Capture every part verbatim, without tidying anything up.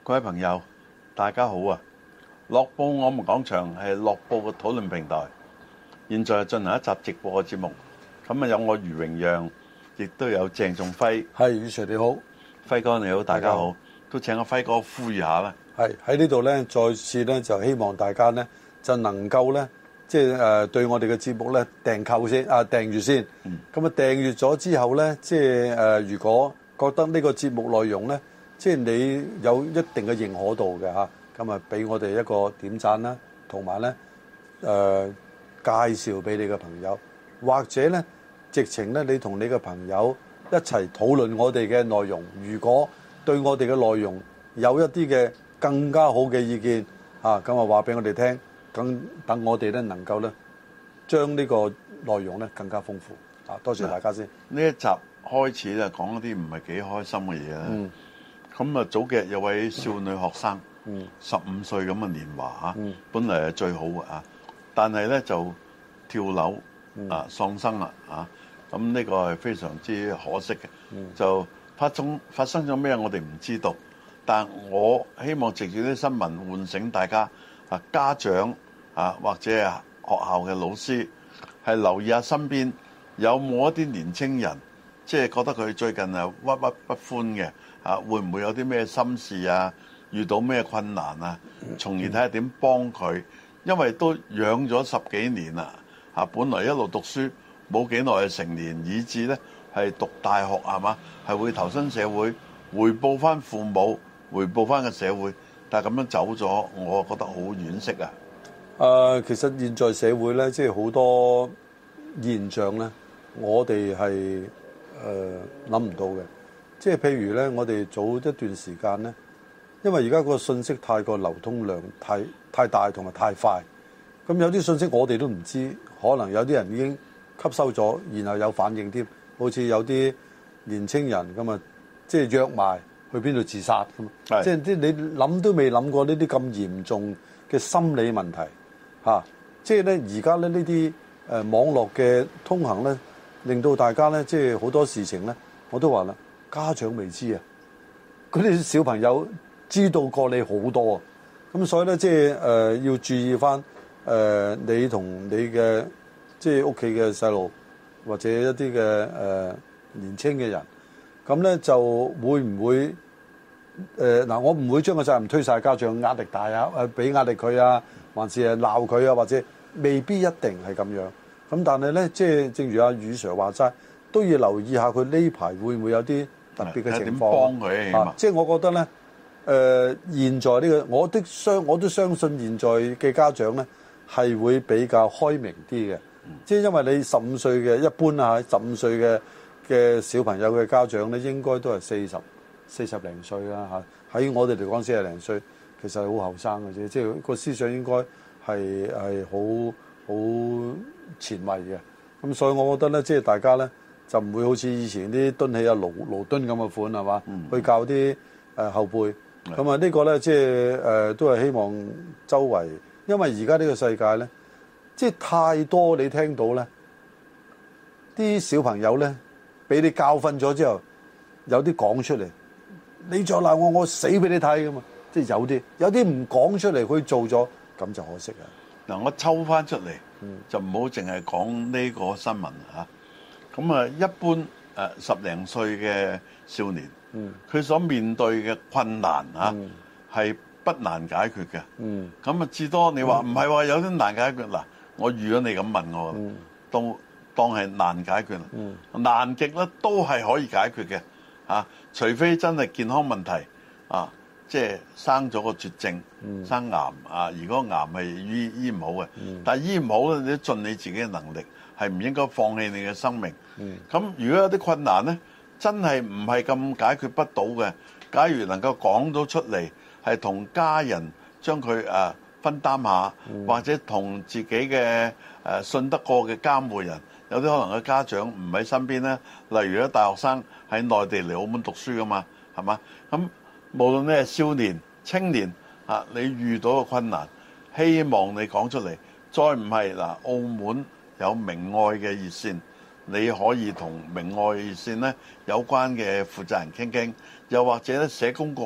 各位朋友，大家好啊！樂報我們講場係樂報嘅討論平台，現在進行一集直播嘅節目。咁啊，有我余榮讓，亦都有鄭仲輝。 係，余 Sir 你好， 輝哥你好，大家好。都請阿輝哥呼籲下啦。 係喺呢度咧，再次咧就希望大家咧就能夠咧，即係誒對我哋嘅節目咧訂購先啊，訂閱先。咁啊訂閱咗之後咧，即係誒如果覺得呢個節目內容咧，即係你有一定嘅認可度嘅嚇，咁啊俾我哋一個點讚啦，同埋咧誒介紹俾你嘅朋友，或者咧直情咧你同你嘅朋友一齊討論我哋嘅內容。如果對我哋嘅內容有一啲嘅更加好嘅意見嚇，咁啊話俾我哋聽，咁等我哋咧能夠咧將呢個內容咧更加豐富啊！多謝大家先。 呢一集開始咧講一啲唔係幾開心嘅嘢啦。嗯咁啊，早幾日有位少女學生，十五歲咁嘅年華嚇，嗯、本嚟係最好嘅啊，但係咧就跳樓啊喪生啦啊！咁呢個係非常之可惜嘅，嗯、就發生發生咗咩我哋唔知道，但我希望藉住啲新聞喚醒大家啊，家長啊或者係學校嘅老師係留意下身邊有冇一啲年青人，即係覺得佢最近啊鬱鬱不歡嘅。啊，會唔會有啲咩心事啊？遇到咩困難啊？從而睇下點幫佢，因為都養咗十幾年啦。啊，本來一路讀書冇幾耐就成年，以至咧係讀大學係嘛，係會投身社會，回報翻父母，回報翻個社會。但係咁樣走咗，我覺得好惋惜啊。 誒、呃，其實現在社會咧，即係好多現象咧，我哋係誒諗唔到嘅。即係譬如咧，我哋早一段時間咧，因為而家個信息太過流通量太太大同埋太快，咁有啲信息我哋都唔知，可能有啲人已經吸收咗，然後有反應添。好似有啲年青人咁啊，即係約埋去邊度自殺咁，即係啲你諗都未諗過呢啲咁嚴重嘅心理問題嚇。即係咧而家咧呢啲誒網絡嘅通行咧，令到大家咧即係好多事情咧，我都話啦。家長未知啊，嗰啲小朋友知道過你好多啊，咁所以咧即係誒要注意翻誒、呃、你同你嘅即係屋企嘅細路或者一啲嘅誒年青嘅人，咁咧就會唔會誒嗱、呃？我唔會將個責任推晒家長，壓力大啊，誒俾壓力佢啊，還是係鬧佢啊，或者未必一定係咁樣。咁但係咧，即係正如阿余 Sir 話齋，都要留意下佢呢排會唔會有啲特別嘅情況， 幫佢啊！ 即係我覺得咧，誒、呃，現在呢、這個，我的相我都相信現在嘅家長咧係會比較開明啲嘅。嗯、即係因為你十五歲嘅一般啊，十五歲嘅嘅小朋友嘅家長咧，應該都係四十四十零歲啦嚇。喺我哋嚟講，四十零歲其實係好後生嘅啫。即係個思想應該係係好好前衛嘅。咁所以我覺得咧，即係大家咧。就唔會好似以前啲蹲起啊盧盧敦咁嘅款係嘛？嗯、去教啲誒、呃、後輩。咁啊、嗯、呢個咧即係誒都係希望周圍，因為而家呢個世界咧，即係太多你聽到咧，啲小朋友咧俾你教訓咗之後，有啲講出嚟，你再鬧我，我死俾你睇㗎嘛！即係有啲，有啲唔講出嚟，佢做咗，咁就可惜啊！ 嗱，我抽翻出嚟，嗯、就唔好淨係講呢個新聞嚇。咁啊，一般誒十零歲嘅少年，佢、嗯、所面對嘅困難嚇係、嗯、不難解決嘅。咁啊、嗯，至多你話唔係話有啲難解決嗱，我預咗你咁問我，嗯、都當係難解決啦。嗯、難極咧都係可以解決嘅嚇，除非真係健康問題啊，即係生咗個絕症，嗯、生癌啊。如果癌係醫醫唔好嘅，嗯、但係醫唔好咧，你都盡你自己嘅能力。係唔應該放棄你嘅生命。咁、嗯、如果有啲困難呢，真係唔係咁解決不到嘅。假如能夠講到出嚟，係同家人將佢誒分擔下，嗯、或者同自己嘅誒信得過嘅監護人，有啲可能嘅家長唔喺身邊呢。例如啲大學生喺內地嚟澳門讀書噶嘛，係嘛？咁無論你係少年、青年啊，你遇到嘅困難，希望你講出嚟。再唔係嗱，澳門有明愛嘅熱線，你可以同明愛熱線咧有關嘅負責人傾傾，又或者咧社工局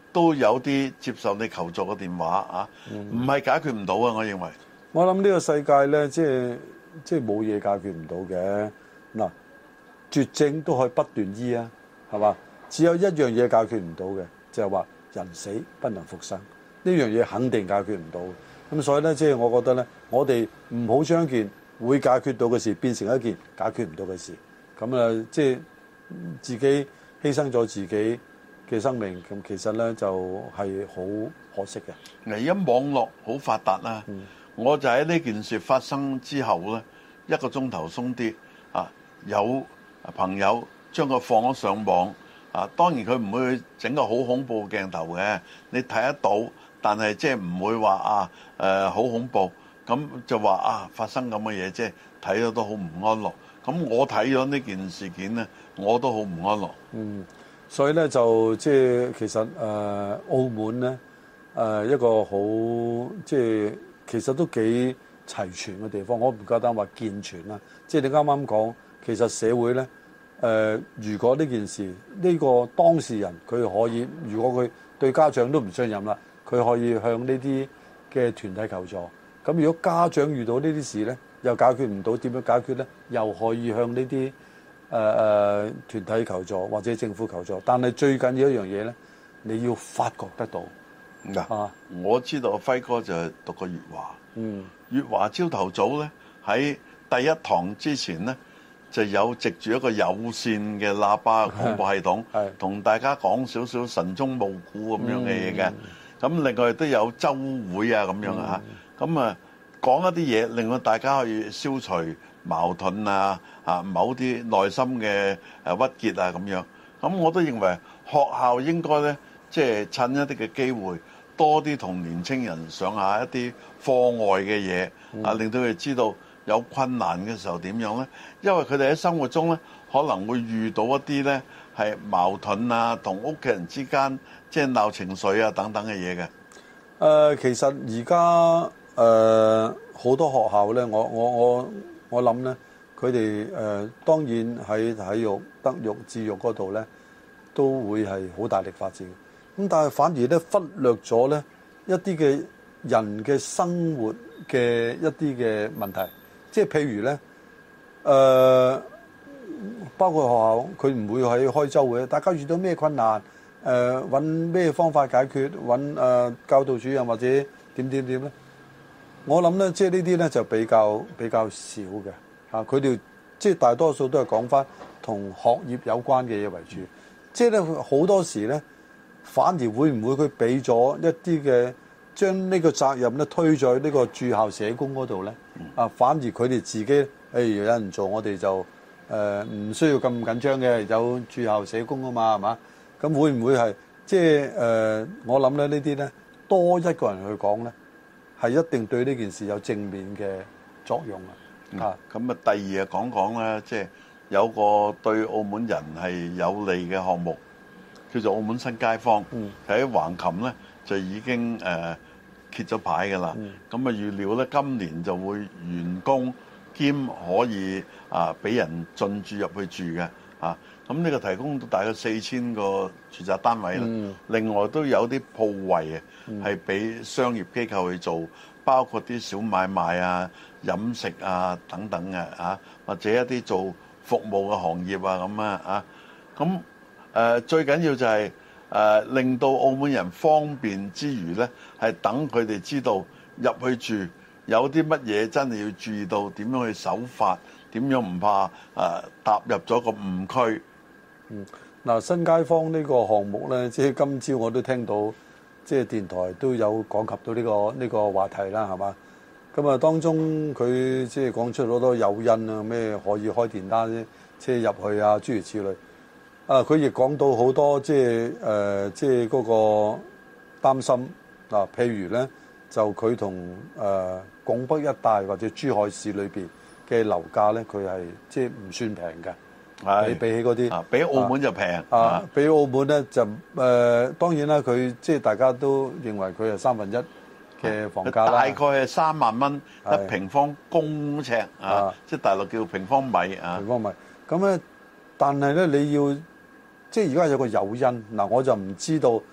都有啲接受你求助嘅電話啊，唔係解決唔到啊！我認為我諗呢個世界咧，即係即係冇嘢解決唔到嘅。嗱，絕症都可以不斷醫啊，係嘛？只有一樣嘢解決唔到嘅，就係話人死不能復生，呢樣嘢肯定解決唔到。咁所以咧，即係我覺得咧，我哋唔好將件會解決到嘅事變成一件解決唔到嘅事。咁啊，即係自己犧牲咗自己嘅生命，咁其實咧就係好可惜嘅。 而家網絡好發達啦，嗯、我就喺呢件事發生之後咧，一個鐘頭鬆啲啊，有朋友將佢放咗上網啊。當然佢唔會整個好恐怖鏡頭嘅，你睇得到，但係即係唔會話啊誒好恐怖，咁就話啊發生咁嘅嘢，即係睇咗都好唔安樂。咁我睇咗呢件事件咧，我都好唔安樂。 嗯。所以咧就即係其實誒、呃、澳門咧誒、呃、一個好即係其實都幾齊全嘅地方，我唔夠膽話健全啦。即係你啱啱講，其實社會咧誒、呃，如果呢件事呢、呢個當事人佢可以，如果佢對家長都唔信任啦，佢可以向呢啲嘅團體求助。咁如果家長遇到呢啲事咧，又解決唔到，點樣解決咧？又可以向呢啲誒誒團體求助或者政府求助，但係最緊要一樣嘢咧，你要發覺得到。 嗱、啊，我知道輝哥就係讀過粵華，嗯，粵華朝頭早咧喺第一堂之前咧就有藉住一個有線嘅喇叭廣播系統，同大家講少少晨鐘暮鼓咁樣嘅嘢嘅。咁、嗯、另外都有週會啊咁樣啊，咁、嗯、啊講一啲嘢，令到大家可以消除矛盾啊，啊某啲內心嘅誒鬱結啊咁樣，咁我都認為學校應該咧，即係趁一啲嘅機會，多啲同年青人上下一啲課外嘅嘢，啊令到佢哋知道有困難嘅時候點樣咧，因為佢哋喺生活中咧可能會遇到一啲咧係矛盾啊，同屋企人之間即係鬧情緒啊等等嘅嘢嘅。 誒，其實而家誒好多學校咧，我我我。我諗咧，佢哋誒當然喺體育、德育、智育嗰度咧，都會係好大力發展。咁但係反而咧忽略咗咧一啲嘅人嘅生活嘅一啲嘅問題，即係譬如咧誒、呃，包括學校佢唔會喺開週會，大家遇到咩困難誒揾咩方法解決，揾誒、呃、教導主任或者點點點咧。我諗咧，即係呢啲咧就比較比較少嘅嚇，佢哋即係大多數都係講翻同學業有關嘅嘢為主。即係咧好多時咧，反而會唔會佢俾咗一啲嘅將呢個責任咧推咗呢個駐校社工嗰度咧？啊，反而佢哋自己誒、哎、有人做，我哋就誒唔、呃、需要咁緊張嘅，有駐校社工啊嘛，係嘛？咁會唔會係即係誒、呃？我諗咧呢啲咧多一個人去講咧，係一定對呢件事有正面嘅作用啊！ 咁、嗯、啊，第二啊講講咧，即係有個對澳門人係有利嘅項目，叫做澳門新街坊。喺橫琴咧就已經誒揭咗牌㗎啦。咁啊預料咧今年就會完工兼可以啊俾人進駐入去住嘅啊。咁呢個提供到大概四千個住宅單位啦。嗯、另外都有啲鋪位啊，係俾商業機構去做，包括啲小買賣啊、飲食啊等等嘅啊，或者一啲做服務嘅行業啊咁啊啊。咁誒、呃、最緊要就係、是、誒、呃、令到澳門人方便之餘咧，係等佢哋知道入去住有啲乜嘢真係要注意到，點樣去守法，點樣唔怕誒、呃、踏入咗個誤區。 嗯，嗱，新街坊呢個項目咧，即係今朝我都聽到，即係電台都有講及到呢個呢個話題啦，係嘛？咁啊，當中佢即係講出好多誘因啊，咩可以開電單車入去啊，諸如此類。啊，佢亦講到好多即係誒，即係嗰個擔心嗱，譬如咧，就佢同誒拱北一帶或者珠海市裏邊嘅樓價咧，佢係即係唔算平嘅。係比起嗰啲， 啊，比澳門就平啊， 啊，比澳門咧就誒、呃，當然啦，佢即係大家都認為佢係三分一嘅房價啦，大概係三萬蚊一平方公尺啊，啊即係大陸叫平方米啊， 平方米。咁咧，但係咧你要即係而家有個誘因嗱，我就唔知道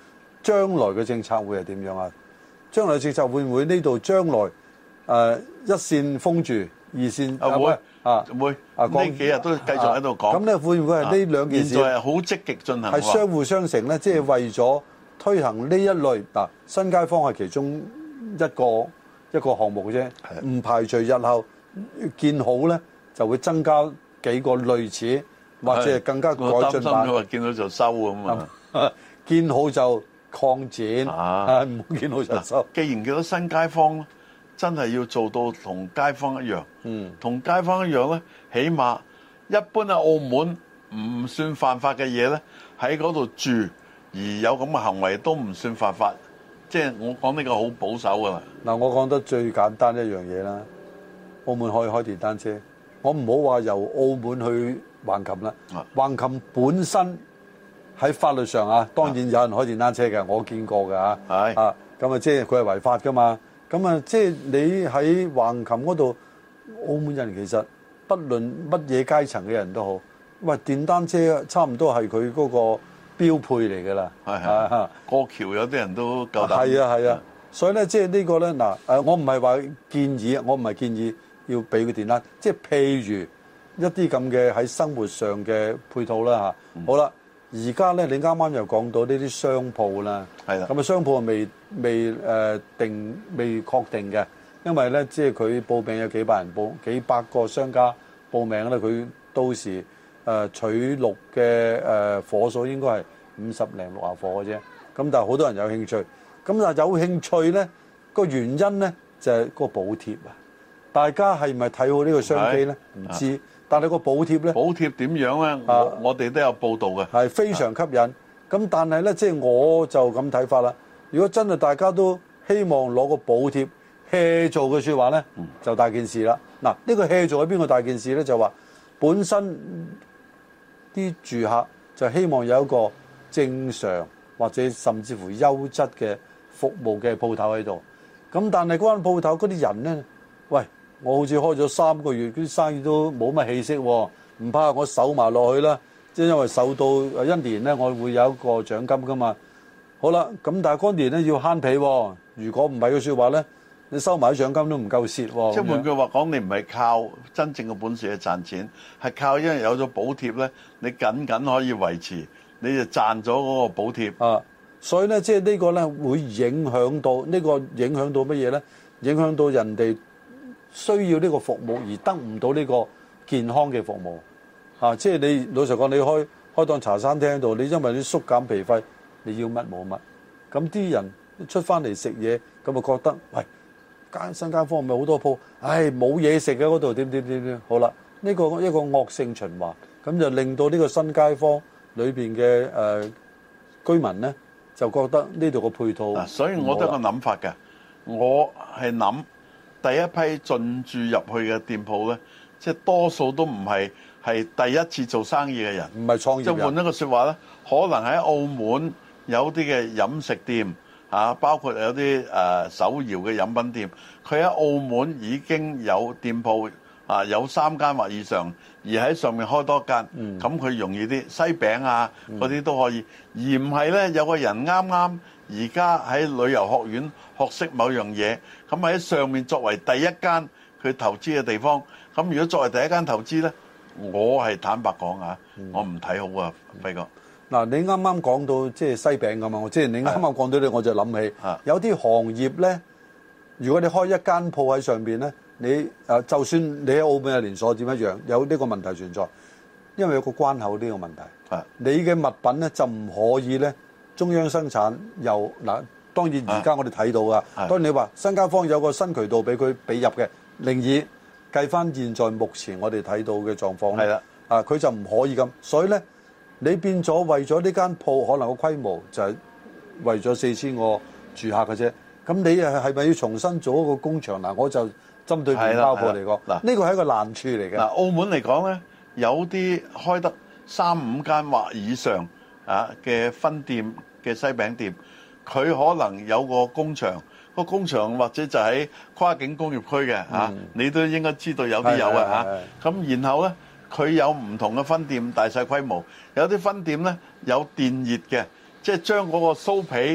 將來嘅政策會係點樣啊？將來嘅政策會唔會呢度將來誒、呃、一線封住，二線啊會啊會啊呢幾日都繼續喺度講。咁咧、 啊、會唔會係呢兩件事？ 現在係好積極進行，係相互相成咧，即、就、係、是、為咗推行呢一類嗱、啊，新街坊係其中一個一個項目啫，唔排除日後建好咧就會增加幾個類似或者係更加改進版。我擔心佢話見到就收咁啊， 建好就擴展，啊唔好見到就收。 既然叫到新街坊，真係要做到同街坊一樣。嗯，同街坊一樣咧，起碼一般喺澳門唔算犯法嘅嘢咧，喺嗰度住而有咁嘅行為都唔算犯法。即係我講呢個好保守㗎啦。嗱， 我講得最簡單一樣嘢啦，澳門可以開電單車。我唔好話由澳門去橫琴啦，橫琴本身喺法律上啊，當然有人開電單車嘅，我見過㗎嚇。係啊，咁啊，即係佢係違法㗎嘛。咁啊，即係你喺橫琴嗰度，澳門人其實不論乜嘢階層嘅人都好，喂，電單車差唔多係佢嗰個標配嚟㗎啦。係係， 過橋有啲人都夠膽。 係啊係啊，所以咧，即係呢個咧嗱，誒，我唔係話建議，我唔係建議要俾佢電單，即係譬如一啲咁嘅喺生活上嘅配套啦嚇。嗯、好啦。而家咧，你啱啱又講到呢啲商鋪啦，係啦，咁啊商鋪未未誒定未確定嘅，因為咧即係佢報名有幾百人報，幾百個商家報名咧，佢到時誒取錄嘅誒夥數應該係五十零六十夥嘅啫，咁但係好多人有興趣，咁但係有興趣咧個原因咧就係個補貼啊，大家係咪睇好呢個商機咧？唔知。但係個補貼咧， 補貼點樣咧？我、啊、我哋都有報道嘅， 係非常吸引。咁、啊、但係咧，即、就、係、是、我就咁睇法啦。如果真係大家都希望攞個補貼 hea 做嘅説話咧，嗯、就大件事啦。嗱，呢個 hea 做喺邊個大件事咧？就話本身啲住客就希望有一個正常或者甚至乎優質嘅服務嘅鋪頭喺度。咁但係嗰間鋪頭嗰啲人咧，喂。我好似開咗三個月，啲生意都冇乜氣息喎，唔怕我守埋落去啦。即係因為守到一年咧，我會有一個獎金噶嘛。好啦，咁但係嗰年咧要慳皮喎。如果唔係嘅説話咧，你收埋啲獎金都唔夠蝕喎。 即係換句話講，你唔係靠真正嘅本事去賺錢，係靠因為有咗補貼咧，你僅僅可以維持，你就賺咗嗰個補貼。 啊，所以咧，即係呢個咧會影響到呢個影響到乜嘢咧？影響到人哋需要呢個服務而得唔到呢個健康嘅服務，啊！即係你老實講，你開開檔茶餐廳喺度，你因為你縮減皮費，你要乜冇乜，咁啲人出翻嚟食嘢，咁啊覺得喂，間新街坊咪好多鋪，唉冇嘢食嘅嗰度點點點點，好啦，呢個一個惡性循環，咁就令到呢個新街坊裏邊嘅誒居民咧，就覺得呢度個配套， 啊，所以我都有個諗法嘅，我係諗。第一批進駐入去嘅店鋪咧，即係多數都唔係係第一次做生意嘅人， 唔係創業人。 即係換一個説話咧，可能喺澳門有啲嘅飲食店啊，包括有啲誒手搖嘅飲品店，佢喺澳門已經有店鋪啊，有三間或以上，而喺上面開多間，咁佢、嗯、容易啲西餅啊嗰啲都可以，而唔係咧有個人啱啱而家喺旅遊學院學識某樣嘢，咁喺上面作為第一間佢投資嘅地方，咁如果作為第一間投資咧，我係坦白講啊，嗯、我唔睇好啊，輝哥。 嗱，你啱啱講到即係西餅咁嘛，即係你啱啱講到呢，我就諗起的有啲行業咧，如果你開一間鋪喺上邊咧，你誒就算你喺澳門嘅連鎖店一樣，有呢個問題存在，因為有個關口呢個問題。的你嘅物品咧就唔可以咧中央生產又嗱。當然而家我哋睇到啊，的當然你話新街坊有個新渠道俾佢俾入嘅，另以計翻現在目前我哋睇到嘅狀況咧，的啊佢就唔可以咁，所以咧你變咗為咗呢間鋪可能個規模就係為咗四千個住客嘅啫，咁你係係咪要重新做一個工場嗱？我就針對麵包鋪嚟講，嗱呢個係一個難處嚟嘅。嗱澳門嚟講咧，有啲開得三五間或以上啊嘅分店嘅西餅店。佢可能有個工場，個工場或者就喺跨境工業區嘅嚇，嗯、你都應該知道有啲有嘅嚇。咁然後咧，佢有唔同嘅分店，大細規模，有啲分店咧有電熱嘅，即係將嗰個酥皮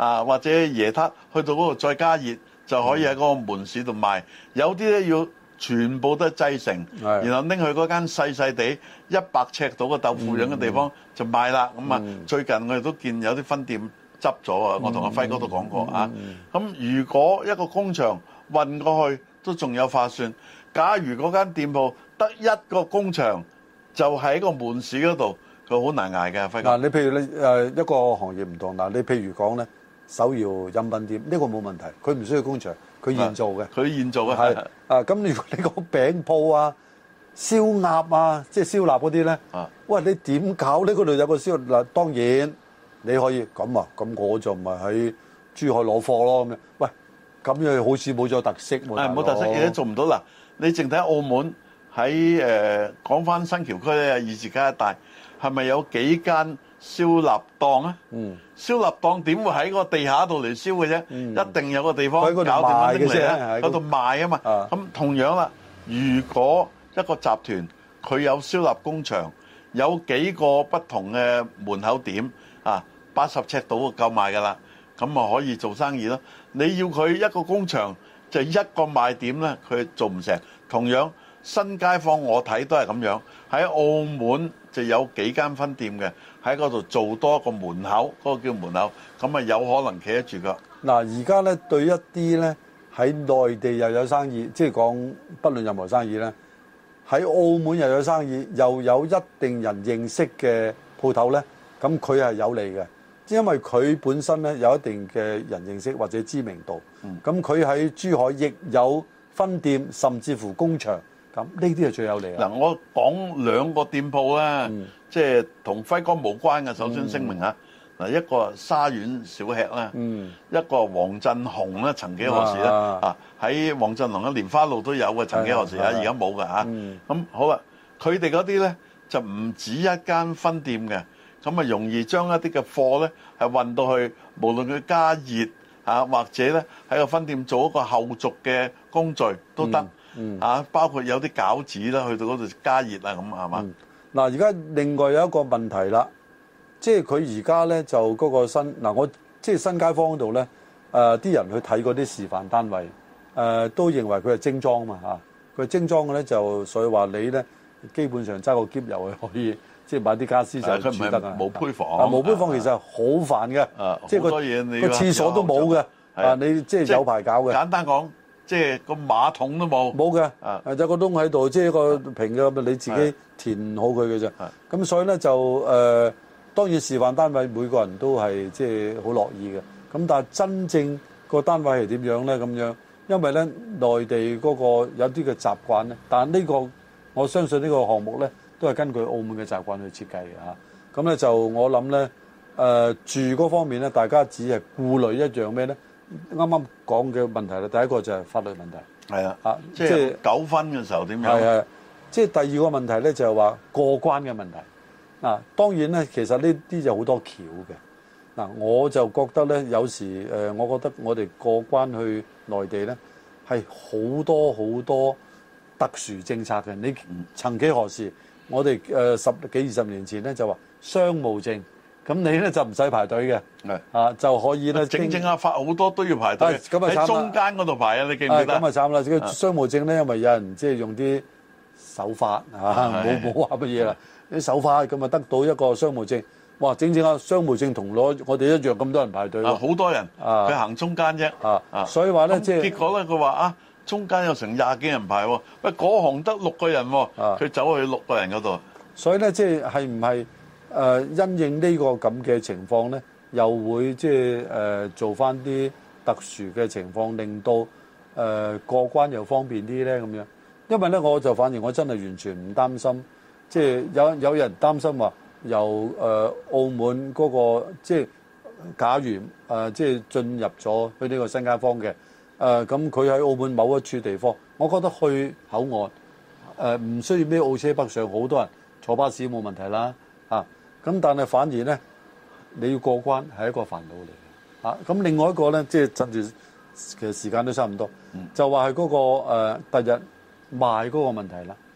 啊，或者椰撻去到嗰度再加熱，就可以喺嗰個門市度賣。有啲咧要全部都係製成，然後拎去嗰間細細地一百尺到嘅豆腐樣嘅地方就賣啦。咁啊，最近我哋都見有啲分店執咗啊，我同阿輝哥都講過啊。咁如果一個工場運過去都仲有劃算，假如嗰間店鋪得一個工場就喺個門市嗰度，佢好難捱嘅。輝哥嗱，你譬如你誒一個行業唔同嗱，你譬如講咧手搖飲品店呢個冇問題，佢唔需要工場，佢現做嘅， 佢現做嘅係啊。咁如果你講餅鋪啊、燒鴨啊，即係燒臘嗰啲咧，喂，你點搞呢？嗰度有個燒嗱，當然你可以咁啊，咁我就咪喺珠海攞貨咯咁樣。喂，咁樣好似冇咗特色喎。 係冇特色，嘢都做唔到嗱。你淨睇澳門喺誒講翻新橋區咧，二字街一帶係咪有幾間燒臘檔啊？嗯，燒臘檔點會喺個地下度嚟燒嘅啫？嗯、一定有個地方搞掂翻拎嚟咧，喺度賣啊嘛。咁同樣啦，如果一個集團佢有燒臘工場，有幾個不同嘅門口點啊，八十尺度就夠賣㗎啦，咁咪可以做生意咯。你要佢一個工場就一個賣點咧，佢做唔成。同樣新街坊我睇都係咁樣，喺澳門就有幾間分店嘅，喺嗰度做多個門口，嗰個叫門口，咁啊有可能企得住㗎。 嗱，而家咧對一啲咧喺內地又有生意，即係講不論任何生意咧，喺澳門又有生意，又有一定人認識嘅鋪頭咧，咁佢係有利嘅，因為佢本身咧有一定嘅人認識或者知名度，咁佢喺珠海亦有分店，甚至乎工場，咁呢啲係最有利啊！ 嗱，我講兩個店鋪咧，嗯、即係同輝哥無關嘅。首先聲明啊，嗱、嗯，一個沙縣小吃啦，嗯、一個黃振鴻咧，曾幾何時咧啊喺黃振龍嘅蓮花路都有嘅，曾幾何時啊，而家冇㗎嚇。咁、嗯、好啦，佢哋嗰啲咧就唔止一間分店嘅，咁啊容易將一啲嘅貨咧係運到去，無論佢加熱。啊，或者咧喺個分店做一個後續嘅工序都得，嗯嗯、啊，包括有啲餃子啦，去到嗰度加熱啊，咁係嘛？ 嗱，而家另外有一個問題啦，即係佢而家咧就嗰個新嗱、啊，我即係新街坊嗰度咧，誒、呃、啲人去睇嗰啲示範單位，誒、呃、都認為佢係精裝嘛嚇，佢、啊、精裝嘅咧就所以話你咧基本上揸個篋入去可以。即係買啲傢俬就住得啊！ 冇胚房啊，冇胚房其實好煩嘅，即係個個廁所都冇嘅。啊，你即係有排搞嘅。 簡單講，即係個馬桶都冇。 冇嘅，啊，有個窿喺度，即係個平嘅，你自己填好佢嘅啫。咁所以咧就誒，當然示範單位每個人都係即係好樂意嘅。咁但係真正個單位係點樣咧？咁樣，因為咧內地嗰個有啲嘅習慣咧，但係呢個我相信呢個項目咧。都係根據澳門嘅習慣去設計嘅嚇，咁咧就我諗咧，誒住嗰方面咧，大家只係顧慮一樣咩咧？啱啱講嘅問題咧，第一個就係法律問題， 係啊，嚇，即係糾紛嘅時候點樣？ 係係，即係第二個問題咧，就係話過關嘅問題。嗱，當然咧，其實呢啲就好多橋嘅。嗱，我就覺得咧，有時誒，我覺得我哋過關去內地咧，係好多好多特殊政策嘅。你曾幾何時？我哋誒十幾二十年前咧就話商務證，咁你咧就唔使排隊嘅，係啊就可以咧。 整整下發好多都要排隊，喺中間嗰度排啊！你記唔記得？ 咁啊慘啦！個商務證咧，因為有人即係用啲手法嚇，冇冇話乜嘢啦，啲手法咁啊得到一個商務證，哇！整整下商務證同攞我哋一樣咁多人排隊。啊， 好多人，佢行中間啫。啊啊， 所以話咧即係結果咧，佢話啊。中間有成廿幾人排喎，喂，嗰行得六個人喎，佢走去六個人嗰度。 所以咧，即係係唔係誒因應呢個咁嘅情況咧，又會即係誒做翻啲特殊嘅情況，令到誒過關又方便啲咧咁樣。因為咧，我就反而我真係完全唔擔心，即係有有人擔心話由誒澳門嗰個即係假如誒即係進入咗去呢個新街坊嘅。誒咁佢喺澳門某一處地方，我覺得去口岸誒唔、呃、需要咩澳車北上，好多人坐巴士冇問題啦嚇。咁、啊、但係反而咧，你要過關係一個煩惱嚟嘅嚇。咁、啊、另外一個咧，即係趁住其實時間都差唔多，嗯、就話係嗰個誒第日賣嗰個問題啦。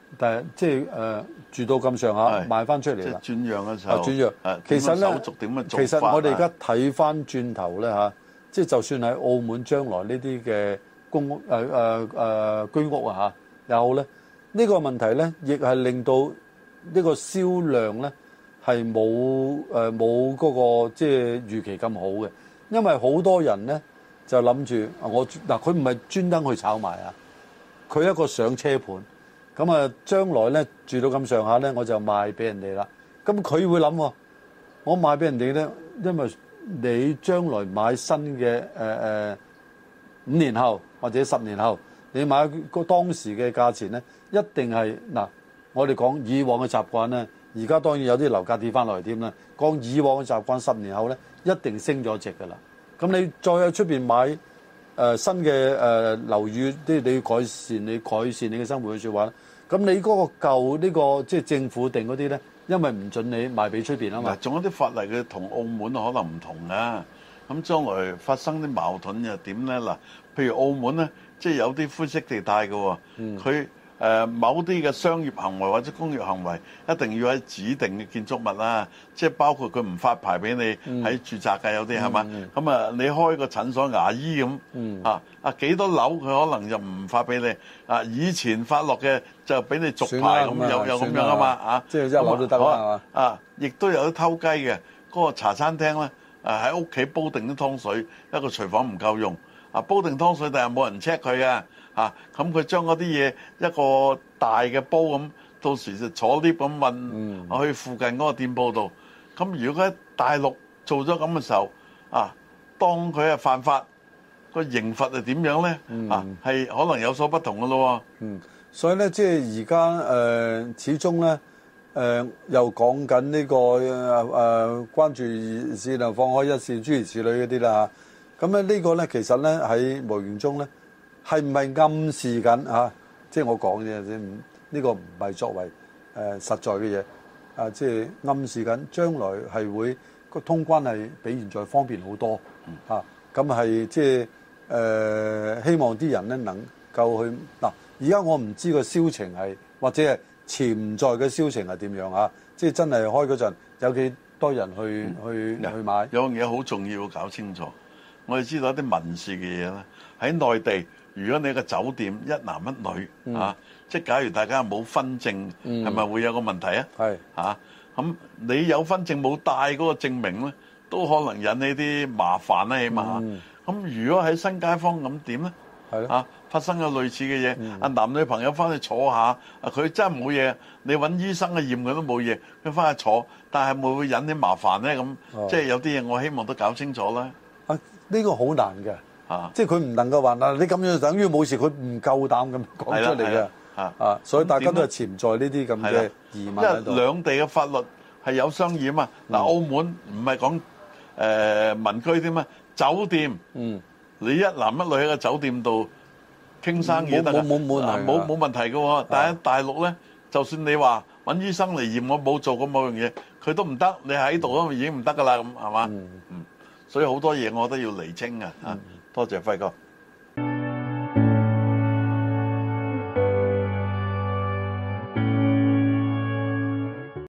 但係即係誒住到咁上下賣翻出嚟啦。 即係轉讓嘅時候。 轉讓。 誒， 其實咧， 手續點樣做法？ 其實我哋而家睇翻轉頭咧嚇，即係就算喺澳門將來呢啲嘅公屋誒誒誒居屋啊嚇，有咧呢個問題咧，亦係令到呢個銷量咧係冇誒冇嗰個即係預期咁好嘅，因為好多人咧就諗住我嗱佢唔係專登去炒賣啊，佢一個上車盤。咁啊，將來咧住到咁上下咧，我就賣俾人哋啦。咁佢會諗喎，我賣俾人哋咧，因為你將來買新嘅誒誒五年後或者十年後，你買個當時嘅價錢咧，一定係嗱，我哋講以往嘅習慣咧，而家當然有啲樓價跌翻落嚟添啦。講以往嘅習慣，十年後咧一定升咗值㗎啦。咁你再喺出邊買？誒、呃、新嘅誒、呃、樓宇，啲你要改善你改善你嘅生活嘅説話，咁你嗰個舊呢、這個即係政府定嗰啲咧，因為唔準你賣俾出邊啊嘛。 仲有啲法例嘅同澳門可能唔同啊。咁將來發生啲矛盾又點咧？嗱，譬如澳門咧，即係有啲灰色地帶嘅喎，佢、嗯。誒、呃、某啲嘅商業行為或者工業行為一定要喺指定嘅建築物啦，即係包括佢唔發牌俾你喺住宅嘅有啲係嘛，咁啊你開個診所牙醫咁、嗯、啊啊幾多樓佢可能就唔發俾你啊，以前發落嘅就俾你續牌咁，有有咁樣啊嘛啊， 即係一樓都得啦啊，亦都有啲偷雞嘅，嗰、那個茶餐廳咧啊喺屋企煲定啲湯水，一個廚房唔夠用啊，煲定湯水但係冇人 check 佢嘅。啊！咁佢將嗰啲嘢一個大嘅煲咁，到時就坐 lift 咁運去附近嗰個店鋪度。咁如果喺大陸做咗咁嘅時候，啊，當佢係犯法，個刑罰係點樣咧？啊，係可能有所不同嘅咯。 嗯，所以咧，即係而家誒，始終咧，誒、呃、又講緊呢個誒誒、呃、關注線量放開一線諸如此類嗰啲啦。咁咧呢個咧，其實咧喺無形中咧。係唔係暗示緊啊？即係我講嘅啫，呢個唔係作為誒、呃、實在嘅嘢啊！即係暗示緊將來係會個通關係比現在方便好多啊！咁係即係誒、呃、希望啲人咧能夠去嗱。而家我唔知個銷情係或者係潛在嘅銷情係點樣啊？即係真係開嗰陣有幾多人去、嗯、去去買？ 有樣嘢好重要，要搞清楚。我哋知道一啲民事嘅嘢咧，喺內地。如果你個酒店一男一女、嗯、啊，即係假如大家冇婚證，係、嗯、咪會有個問題啊？係嚇，咁你有婚證冇帶嗰個證明咧，都可能引起啲麻煩啦，起碼。咁、嗯、如果喺新街坊咁點咧？係啊，發生咗類似嘅嘢，啊、嗯、男女朋友翻去坐下，啊佢真係冇嘢，你揾醫生去驗佢都冇嘢，佢翻去坐，但係會唔會引起麻煩咧？咁、哦、即係有啲嘢我希望都搞清楚啦。 啊，呢、呢個好難嘅。啊！即係佢唔能夠話嗱，你咁樣就等於冇事，佢唔夠膽咁講出嚟嘅。啊啊！所以大家都係潛在呢啲咁嘅疑問喺度。 因為兩地嘅法律係有相異啊嘛。嗱、嗯，澳門唔係講誒民居添嘛，酒店。嗯。你一男一女喺個酒店度傾生意得㗎， 冇冇冇冇冇冇問題嘅喎。但係大陸咧，就算你話揾醫生嚟驗我冇做過某樣嘢，佢都唔得。你喺度都已經唔得㗎啦，咁係嘛？嗯嗯。所以好多嘢我都要釐清嘅啊。多謝輝哥。